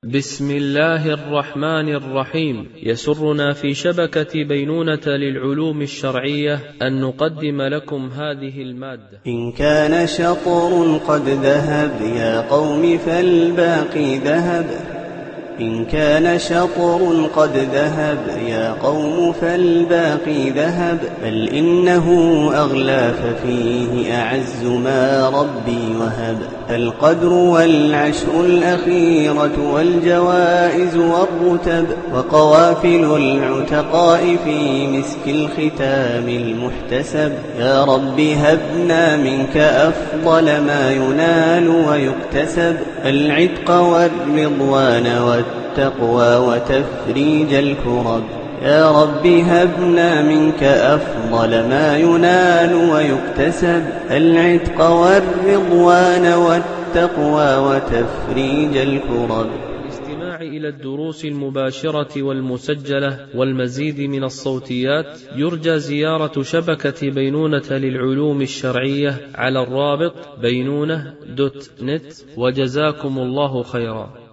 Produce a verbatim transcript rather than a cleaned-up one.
بسم الله الرحمن الرحيم. يسرنا في شبكة بينونة للعلوم الشرعية أن نقدم لكم هذه المادة. إن كان شطر قد ذهب يا قوم فالباقي ذهب. إن كان شطر قد ذهب يا قوم فالباقي ذهب. بل إنه أغلى ففيه أعز ما ربي وهب. القدر والعشر الأخيرة والجوائز والرتب وقوافل العتقاء في مسك الختام المحتسب. يا رب هبنا منك أفضل ما ينال ويكتسب. العتق والرضوان والتقوى وتفريج الكرب. يا رب هبنا منك أفضل ما ينال ويكتسب. العتق والرضوان والتقوى وتفريج الكرب. الاستماع إلى الدروس المباشرة والمسجلة والمزيد من الصوتيات يرجى زيارة شبكة بينونة للعلوم الشرعية على الرابط بينونة دوت نت. وجزاكم الله خيرا.